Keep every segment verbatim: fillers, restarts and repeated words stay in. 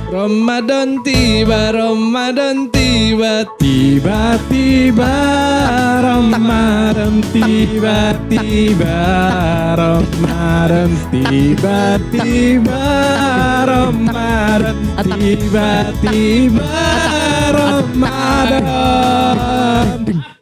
Ramadan tiba, Ramadan tiba, tiba-tiba Ramadan tiba-tiba Ramadan tiba-tiba Ramadan tiba-tiba Ramadan.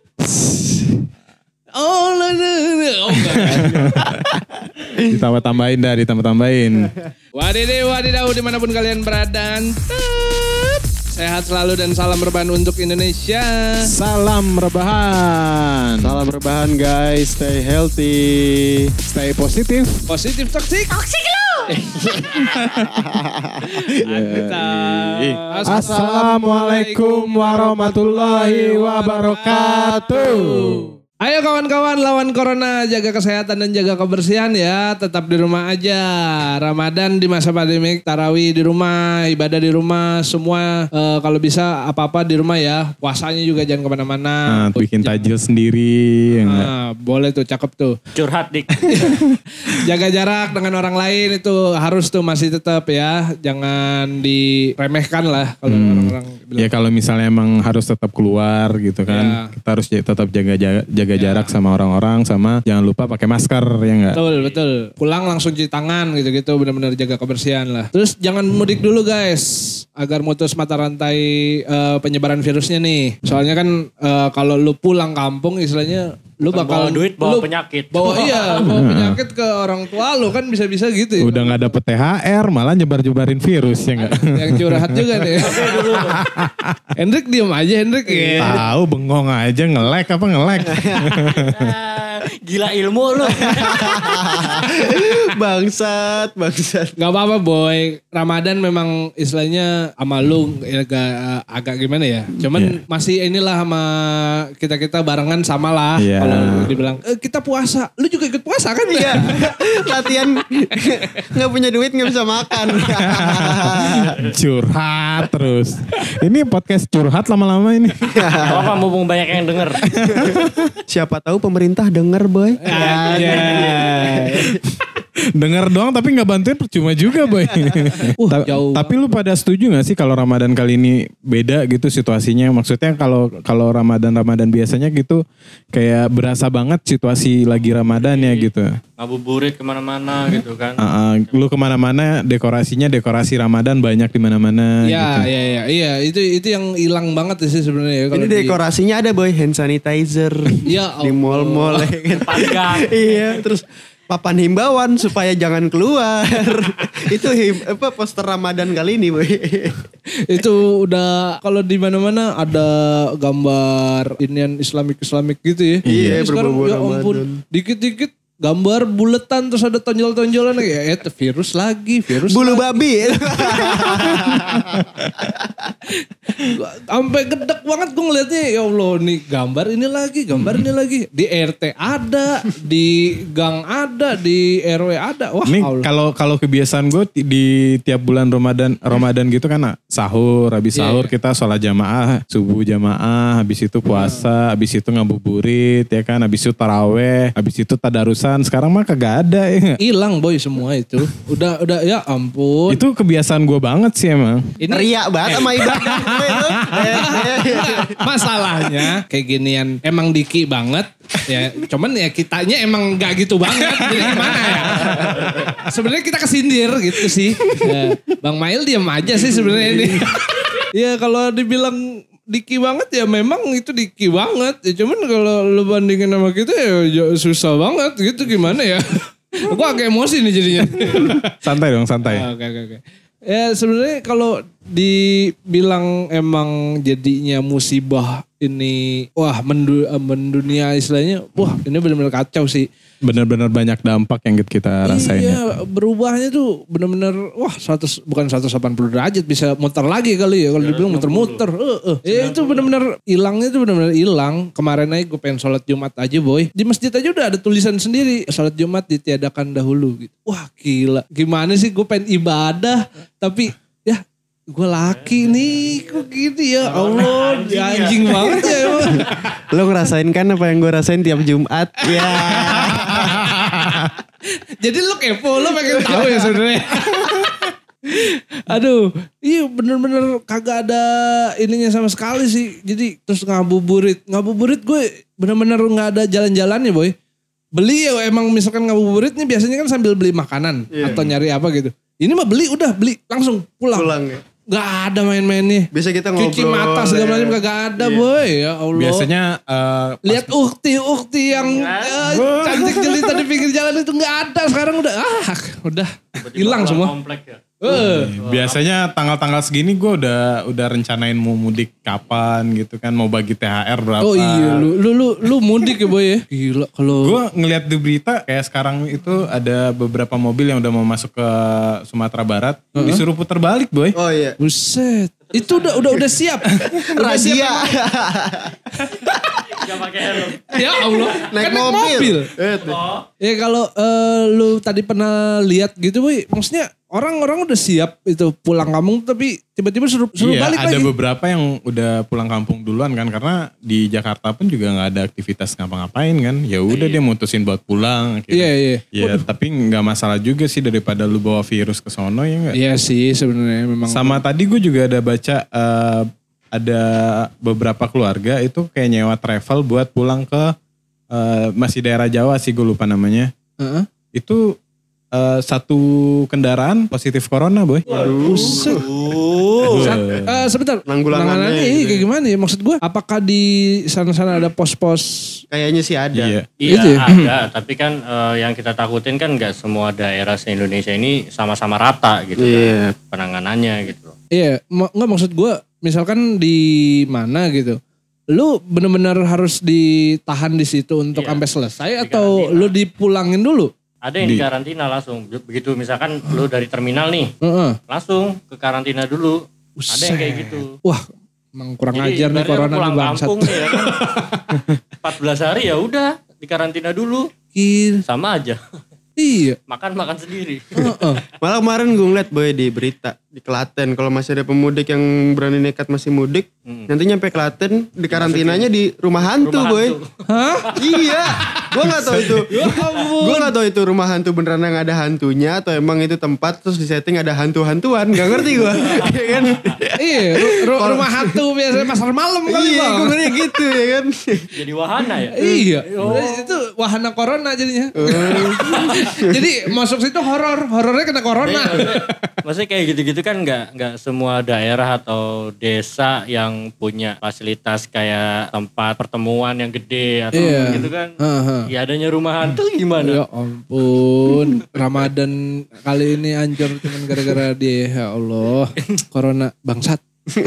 Oh, no, no, no. Oh, ditambah-tambahin dah, ditambah-tambahin. Wadidaw, wadidaw, dimanapun kalian berada, tetap sehat selalu dan salam rebahan untuk Indonesia. Salam rebahan. Salam rebahan guys, stay healthy, Stay positif. Positif toksik. Toksik lu. Assalamualaikum warahmatullahi wabarakatuh. Ayo kawan-kawan, lawan corona, jaga kesehatan dan jaga kebersihan ya. Tetap di rumah aja. Ramadan di masa pandemik, tarawih di rumah, ibadah di rumah, semua uh, kalau bisa apa-apa di rumah ya. Puasanya juga jangan kemana-mana. Nah, bikin tajil sendiri. Nah, boleh tuh, cakep tuh. Curhat dik. Jaga jarak dengan orang lain itu harus tuh masih tetap ya. Jangan diremehkan lah kalau hmm. orang-orang bilang. Ya kalau misalnya emang harus tetap keluar gitu kan. Ya. Kita harus tetap jaga-jaga. Jaga ya. jarak sama orang-orang, sama jangan lupa pakai masker ya enggak? Betul, betul. Pulang langsung cuci tangan gitu-gitu, benar-benar jaga kebersihan lah. Terus jangan mudik dulu guys, agar mutus mata rantai uh, penyebaran virusnya nih. Soalnya kan uh, kalau lu pulang kampung istilahnya lu bakal bawa duit, bawa lu, penyakit. Bawa iya, bawa penyakit ke orang tua lu kan bisa-bisa gitu. Ya. Udah nggak dapet T H R, malah nyebar-nyebarin virus ya enggak? Yang curhat juga nih. Hendrik diem aja Hendrik. Ya. Tahu bengong aja, ngelek apa ngelek. Gila ilmu lu. bangsat, bangsat. Gak apa-apa boy, Ramadan memang istilahnya sama lu agak, agak gimana ya. Cuman yeah. masih inilah sama kita-kita barengan sama lah. Yeah. Kalau dibilang, e, kita puasa, lu juga ikut puasa kan? Iya, latihan gak punya duit gak bisa makan. Curhat terus. Ini podcast curhat lama-lama ini. Apa mumpung banyak yang denger. Siapa tahu pemerintah denger boy. Ya, ya. Dengar doang tapi gak bantuin percuma juga boy. uh, Ta- tapi lu pada setuju gak sih kalau Ramadan kali ini beda gitu situasinya? Maksudnya kalau kalau Ramadan-Ramadan biasanya gitu kayak berasa banget situasi lagi Ramadan ya gitu. Ngabuburit kemana-mana gitu kan. Uh, uh, lu kemana-mana dekorasinya dekorasi Ramadan banyak di mana-mana. Iya, gitu. iya, iya, iya. Itu itu yang hilang banget sih sebenarnya. Ini dekorasinya di... ada boy, hand sanitizer. Ya, di mall-mall. Iya, terus papan himbauan supaya jangan keluar. Itu him, apa poster Ramadan kali ini, boy. Itu udah kalau di mana-mana ada gambar inian Islamik-Islamik gitu ya. Iya, sekarang ya ampun, dikit-dikit gambar buletan terus ada tonjol-tonjolan ya itu virus lagi, virus bulu lagi. babi. Sampai gedek banget gue ngeliatnya, ya Allah nih gambar ini lagi, gambar ini lagi. Di R T ada, di gang ada, di R W ada. Wah, ini kalau kalau kebiasaan gue di tiap bulan Ramadan Ramadan gitu kan sahur, habis sahur yeah. kita sholat jamaah, subuh jamaah, habis itu puasa, habis itu ngabuburit ya kan, habis itu taraweh, habis itu tadarus. Sekarang mah kagak ada ya. Hilang boy semua itu. Udah udah ya ampun. Itu kebiasaan gue banget sih emang. Ini riak banget sama ibadah gue itu. Masalahnya kayak ginian emang diki banget ya. Cuman ya kitanya emang gak gitu banget. Jadi gimana ya? Sebenarnya kita kesindir gitu sih. Ya, Bang Mail diam aja sih sebenarnya ini. Ya kalau dibilang diki banget ya memang itu diki banget. Ya cuman kalau lu bandingin sama kita ya susah banget gitu gimana ya. Gue agak emosi nih jadinya. Santai dong, santai. Oke oke oke. Ya sebenarnya kalau dibilang emang jadinya musibah ini wah mendu, mendunia istilahnya wah ini benar-benar kacau sih. Benar-benar banyak dampak yang kita rasain. Iya, berubahnya tuh benar-benar wah seratus bukan seratus delapan puluh derajat bisa muter lagi kali ya kalau dibilang muter-muter. Heeh. Uh, uh. Ya, itu benar-benar hilangnya tuh benar-benar hilang. Kemarin aja gue pengen sholat Jumat aja boy. Di masjid aja udah ada tulisan sendiri sholat Jumat ditiadakan dahulu gitu. Wah gila. Gimana sih gue pengen ibadah tapi ya gue laki nih kok gini ya Allah anjing, anjing ya. Banget ya emang. Lo ngerasain kan apa yang gue rasain tiap Jumat ya. Jadi lo kepo lo pengen tahu ya sebenarnya. Aduh, iya bener-bener kagak ada ininya sama sekali sih. Jadi terus ngabuburit. Ngabuburit gue bener-bener gak ada jalan-jalannya boy. Beli ya emang misalkan ngabuburit nih biasanya kan sambil beli makanan. Iya. Atau nyari apa gitu. Ini mah beli udah beli langsung pulang. Pulang ya. Gak ada main-mainnya. Biasa kita ngobrol. Cuci mata segala macam kagak ada Iya. boy. Ya Allah. Biasanya eh, Lihat ukti-ukti yang eh, cantik jelita di pinggir jalan itu gak ada. Sekarang udah ah udah hilang semua. Komplek ya. Eh. biasanya tanggal-tanggal segini gue udah udah rencanain mau mudik kapan gitu kan, mau bagi T H R berapa. Oh iya lu lu lu, lu mudik ya boy ya. Gila kalau Gue ngeliat di berita kayak sekarang itu ada beberapa mobil yang udah mau masuk ke Sumatera Barat, disuruh putar balik boy. Oh iya. buset. Itu udah udah udah siap. Udah siap Razia. Gak pakai helm. ya Allah. Naik Kan mobil. Eh, tuh. Oh, Ya kalau eh, lu tadi pernah lihat gitu boy, maksudnya orang-orang udah siap itu pulang kampung tapi tiba-tiba suruh suruh Iya, balik ada lagi. beberapa yang udah pulang kampung duluan kan, karena di Jakarta pun juga nggak ada aktivitas ngapa-ngapain kan. Ya udah dia mutusin buat pulang. akhirnya. Iya iya. Ya tapi nggak masalah juga sih daripada lu bawa virus ke sono ya nggak. Iya sih sebenarnya memang. Sama tadi gue juga ada baca eh, ada beberapa keluarga itu kayak nyewa travel buat pulang ke eh, masih daerah Jawa sih, gue lupa namanya. Heeh. Itu eh, satu kendaraan positif corona boy. Buset. Sa- eh, sebentar. Penanggulangannya Penanganannya gitu iya, kayak gimana ya? Maksud gue apakah di sana-sana ada pos-pos? Kayaknya sih ada. Iya. iya Gitu ya? ada. Tapi kan eh, yang kita takutin kan gak semua daerah se-Indonesia ini sama-sama rata gitu Iya. kan. Penanganannya gitu. Iya, ma- nggak maksud gue misalkan di mana gitu. Lu bener-bener harus ditahan di situ untuk Iya. sampai selesai Di atau karantina. lu dipulangin dulu? Ada yang di karantina langsung. Begitu misalkan lu dari terminal nih, Heeh. langsung ke karantina dulu. Ada yang kayak gitu. Wah, emang kurang Jadi ajar nih ibaratnya corona pulang nih bangsat. kampung nih ya kan. empat belas hari ya udah di karantina dulu. Gila. Sama aja. Iya. Makan-makan sendiri. Heeh. Malah kemarin gue ngeliat boy di berita di Klaten, kalau masih ada pemudik yang berani nekat masih mudik, Hmm. nanti nyampe Klaten di karantinanya di rumah hantu Rumah boy. hantu. Hah? Iya, gue nggak tahu itu. Ya ampun. Gue nggak tahu itu rumah hantu beneran yang ada hantunya atau emang itu tempat terus di setting ada hantu-hantuan, nggak ngerti gue. Iya kan? Iya, ru- ru- rumah hantu biasanya pasar malam kali Iya, Bang. gue ngeri gitu ya kan. Jadi wahana ya. Iya, itu wahana corona jadinya. Jadi masuk situ horor, horornya kena corona. Maksudnya, maksudnya kayak gitu-gitu kan nggak nggak semua daerah atau desa yang punya fasilitas kayak tempat pertemuan yang gede atau Iya. gitu kan. Heeh. Ya adanya rumah hantu gimana? Ya ampun, Ramadan kali ini hancur cuman gara-gara dia. Ya Allah, corona bangsat.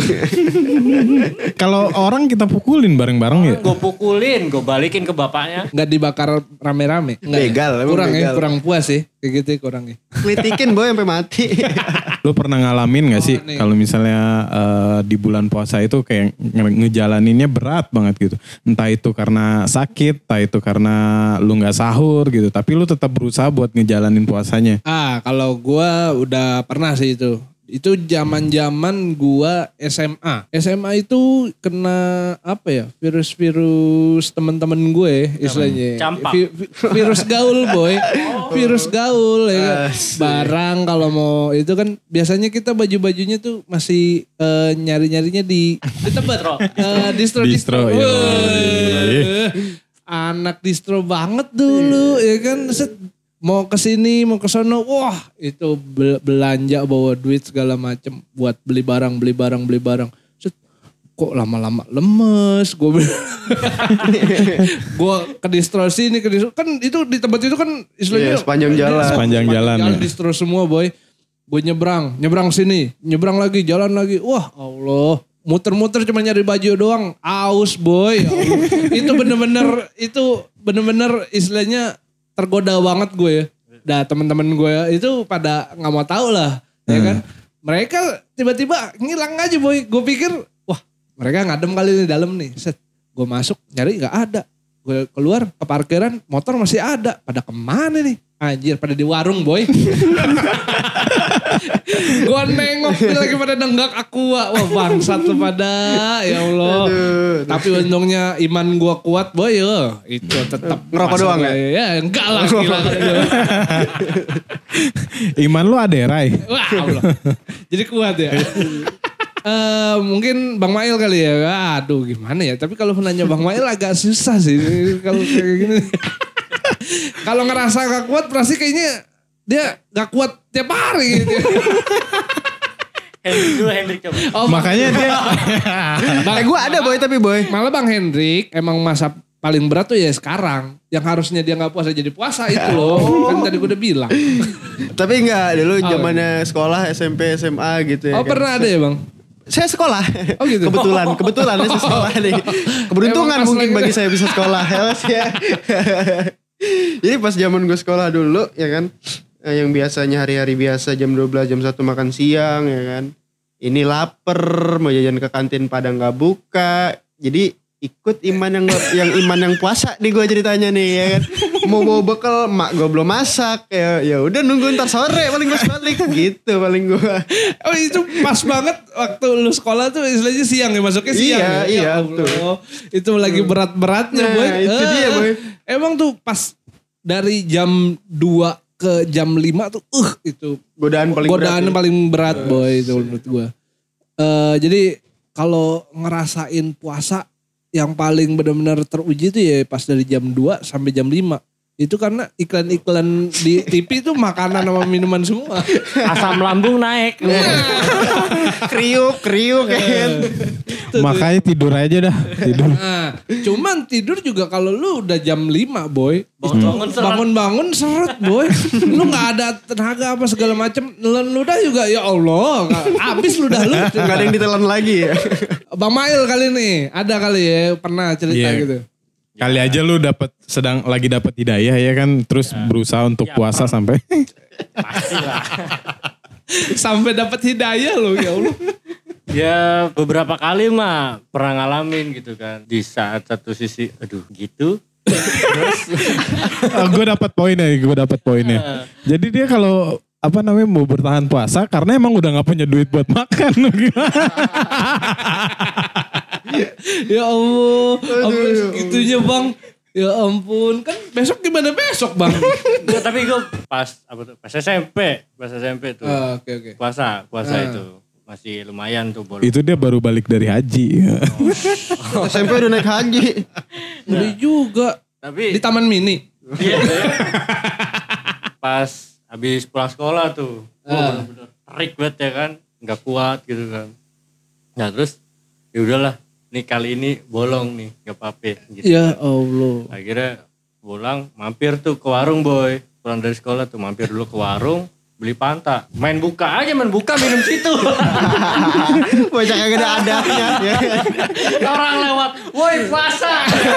Kalau orang kita pukulin bareng-bareng ya. Gue pukulin, gue balikin ke bapaknya. Nggak dibakar rame-rame. Nggak ya? Begal, emang Kurang ya, begal. kurang puas sih. Kayak gitu ya, kurang ya. Kelitikin boy sampai mati. Lu pernah ngalamin gak sih nih. kalau misalnya eh, di bulan puasa itu kayak nge- ngejalaninnya berat banget gitu. Entah itu karena sakit, entah itu karena lu gak sahur gitu. Tapi lu tetap berusaha buat ngejalanin puasanya. Ah, kalau gua udah pernah sih itu. Itu zaman-zaman gua S M A. S M A itu kena apa ya? Virus-virus teman-teman gue istilahnya. Campak. Vi- vi- virus gaul, boy. Virus gaul ya kan. Asik. Barang kalau mau itu kan biasanya kita baju-bajunya tuh masih eh, nyari-nyarinya di di tempat Eh, distro distro. Distro, iya. Wah. Anak distro banget dulu ya kan. Set, mau ke sini, mau ke sono, wah itu bel- belanja bawa duit segala macem buat beli barang, beli barang, beli barang. Set, kok lama-lama lemes, gue gue ke distro sini, ke distro kan itu di tempat itu kan istilahnya Iya, sepanjang jalan. Sepanjang jalan, jalan ya. distro semua boy. Gue nyebrang, nyebrang sini, nyebrang lagi, jalan lagi, wah Allah. Muter-muter cuma nyari baju doang, aus boy. Ya Allah. Itu bener-bener, itu bener-bener istilahnya tergoda banget gue ya. Dah teman-teman gue itu pada nggak mau tahu lah, ya kan. Mereka tiba-tiba ngilang aja boy. Gue pikir, wah mereka ngadem kali di dalam nih. Set, gue masuk nyari nggak ada. Gue keluar ke parkiran, motor masih ada. Pada kemana nih? Anjir pada di warung boy. Gue nengok dia lagi pada nenggak aqua. Wah bangsat lu pada. Ya Allah. Aduh, tapi untungnya iman gue kuat boy. Ya. Itu tetap. Ngerokok doang ya? Ya enggak lah. Gila. Iman lu ada Rai. Wah Allah. Jadi kuat ya. Uh, mungkin Bang Mail kali ya. Aduh gimana ya. Tapi kalau nanya Bang Mail agak susah sih. Kalau kayak gini. Kalau ngerasa gak kuat pasti kayaknya dia gak kuat tiap hari gitu. Hendrik dulu Hendrik coba. Oh, makanya dia. Bang, eh gue ada boy tapi boy. Malah Bang Hendrik emang masa paling berat tuh ya sekarang. Yang harusnya dia gak puasa jadi puasa itu loh. Kan tadi gue udah bilang. Tapi enggak dulu zamannya sekolah S M P S M A gitu ya. Oh kan? Pernah ada ya Bang? Saya sekolah. Oh gitu. Kebetulan, kebetulan saya sekolah nih. Keberuntungan mungkin bagi saya bisa sekolah. Ya. Jadi pas zaman gue sekolah dulu ya kan. Yang biasanya hari-hari biasa jam dua belas, jam satu makan siang ya kan. Ini lapar, mau jajan ke kantin pada gak buka. Jadi ikut iman yang yang iman yang puasa nih gue ceritanya nih ya kan. Mau bawa bekal, mak gue belum masak. Ya ya udah nunggu ntar sore paling gue balik gitu paling gue. Oh itu pas banget waktu lu sekolah tuh istilahnya siang ya masuknya siang. Iya, ya? iya betul. Itu lagi berat-beratnya nah, boy. Itu uh, dia boy. Emang tuh pas dari jam dua ke jam lima tuh uh itu godaan paling godaan berat. paling berat ya. Boy itu menurut gue. Uh, jadi kalau ngerasain puasa yang paling benar-benar teruji tuh ya pas dari jam dua sampai jam lima. Itu karena iklan-iklan di T V itu makanan sama minuman semua. Asam lambung naik. kriuk, kriuk kan. Makanya tidur aja dah. Tidur. Nah, cuman tidur juga kalau lu udah jam lima boy. Bangun-bangun seret. Bangun-bangun seret boy. Lu gak ada tenaga apa segala macem. Nelen ludah juga ya Allah. Habis ludah lu. Gak ada yang ditelan lagi ya. Bang Mail kali nih. Ada kali ya pernah cerita yeah. gitu. Kali aja lu dapat sedang lagi dapat hidayah ya kan, terus ya. berusaha untuk ya, puasa sampai pastilah. Sampai dapat hidayah lo ya Allah. Ya beberapa kali mah pernah ngalamin gitu kan. Di saat satu sisi aduh gitu. Terus oh, gue dapat poinnya, gue dapat poinnya. Jadi dia kalau apa namanya mau bertahan puasa karena emang udah nggak punya duit buat makan. Ya Allah, sampai segitunya bang. Ya ampun, kan besok gimana besok bang? Nggak, tapi gue pas apa tuh? Pas S M P, pas S M P tuh. Uh, okay, okay. Puasa, puasa uh. itu masih lumayan tuh. Boleh. Itu dia baru balik dari haji. Oh. S M P udah naik haji. Beli juga. Tapi di Taman Mini. Iya. Pas habis pulang sekolah tuh, uh. oh, bener-bener terik banget ya kan, nggak kuat gitu kan. Nah terus, ya udahlah. Nih kali ini bolong nih, gak apa-apa gitu. Ya Allah. Akhirnya pulang, mampir tuh ke warung boy. Pulang dari sekolah tuh mampir dulu ke warung, beli Fanta. Main buka aja, main buka minum situ. Bocah kagak ada adabnya. Orang lewat, woi puasa.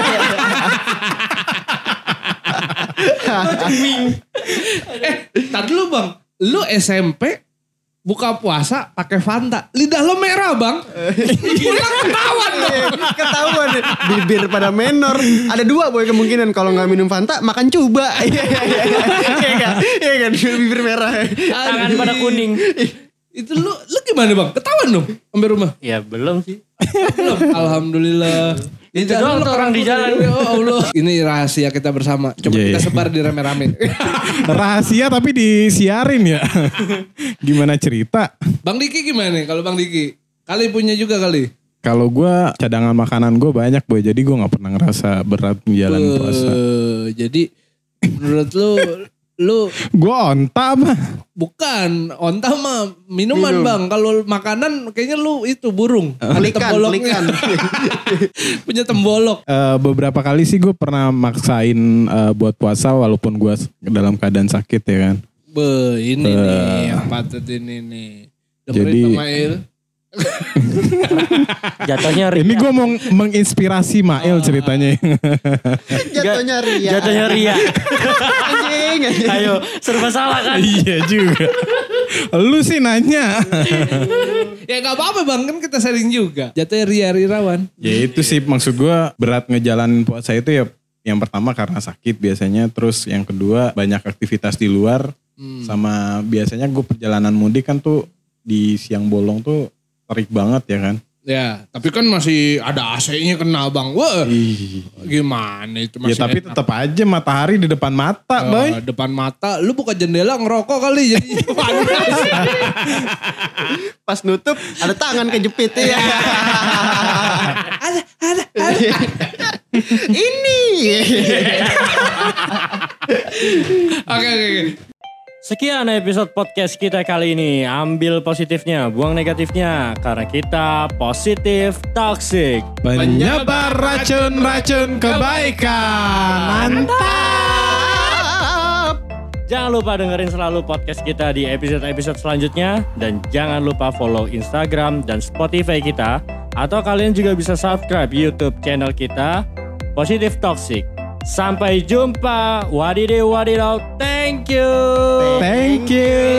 eh, tadi lu bang, lu S M P buka puasa pakai Fanta. Lidah lo merah bang. Pulang ketahuan dong. Ketahuan. Bibir pada menor. Ada dua boy kemungkinan. Kalau gak minum Fanta makan cuba. Iya kan. Iya kan. Bibir merah. Tangan pada kuning. Itu lu, lu gimana bang? Ketahuan dong sampai rumah? Ya belum sih. Belum. Alhamdulillah. Itu doang tuh orang di jalan. Ya Allah. Ini rahasia kita bersama. Coba yeah, kita yeah. sebar di rame-rame. Rahasia tapi disiarin ya. Gimana cerita? Bang Diki gimana nih? Kalau Bang Diki? Kali punya juga kali? Kalau gue cadangan makanan gue banyak boy. Jadi gue gak pernah ngerasa berat menjalani uh, puasa. Jadi menurut lu... Lu gue onta apa? Bukan, onta mah minuman Minum. Bang. Kalau makanan kayaknya lu itu burung. Uh, Ada likan, temboloknya. Punya tembolok. Uh, beberapa kali sih gue pernah maksain uh, buat puasa walaupun gue dalam keadaan sakit ya kan. Be, ini uh, nih yang patut ini nih. Dengerin jadi, Bang Mail. Jatuhnya ria. Ini gue mau menginspirasi Mail ceritanya. Jatuhnya ria. Jatuhnya ria. Anjing, anjing. Ayo, serba salah kan? Iya juga. Lu sih nanya. Ya gak apa-apa bang, kan kita sharing juga. Jatuhnya ria Rirawan. Ya itu sih maksud gue berat ngejalanin puasa itu ya Yang pertama karena sakit biasanya, terus yang kedua banyak aktivitas di luar, hmm. sama biasanya gue perjalanan mudik kan tuh di siang bolong tuh terik banget ya kan. Ya, tapi kan masih ada A C-nya kena bang. Wah, Ih. gimana itu masih ya tapi enak. tetap aja matahari di depan mata, uh, boy. Depan mata, lu buka jendela ngerokok kali jadi panas. Pas nutup ada tangan kejepit ya. ada, ada, ada. Ini. Oke, oke, oke. Sekian episode podcast kita kali ini. Ambil positifnya, buang negatifnya. Karena kita positif toxic. Penyebar racun-racun kebaikan. Mantap. Jangan lupa dengerin selalu podcast kita di episode-episode selanjutnya. Dan jangan lupa follow Instagram dan Spotify kita. Atau kalian juga bisa subscribe YouTube channel kita, Positif Toxic. Sampai jumpa. Wadidaw wadidaw. Thank you. Thank you.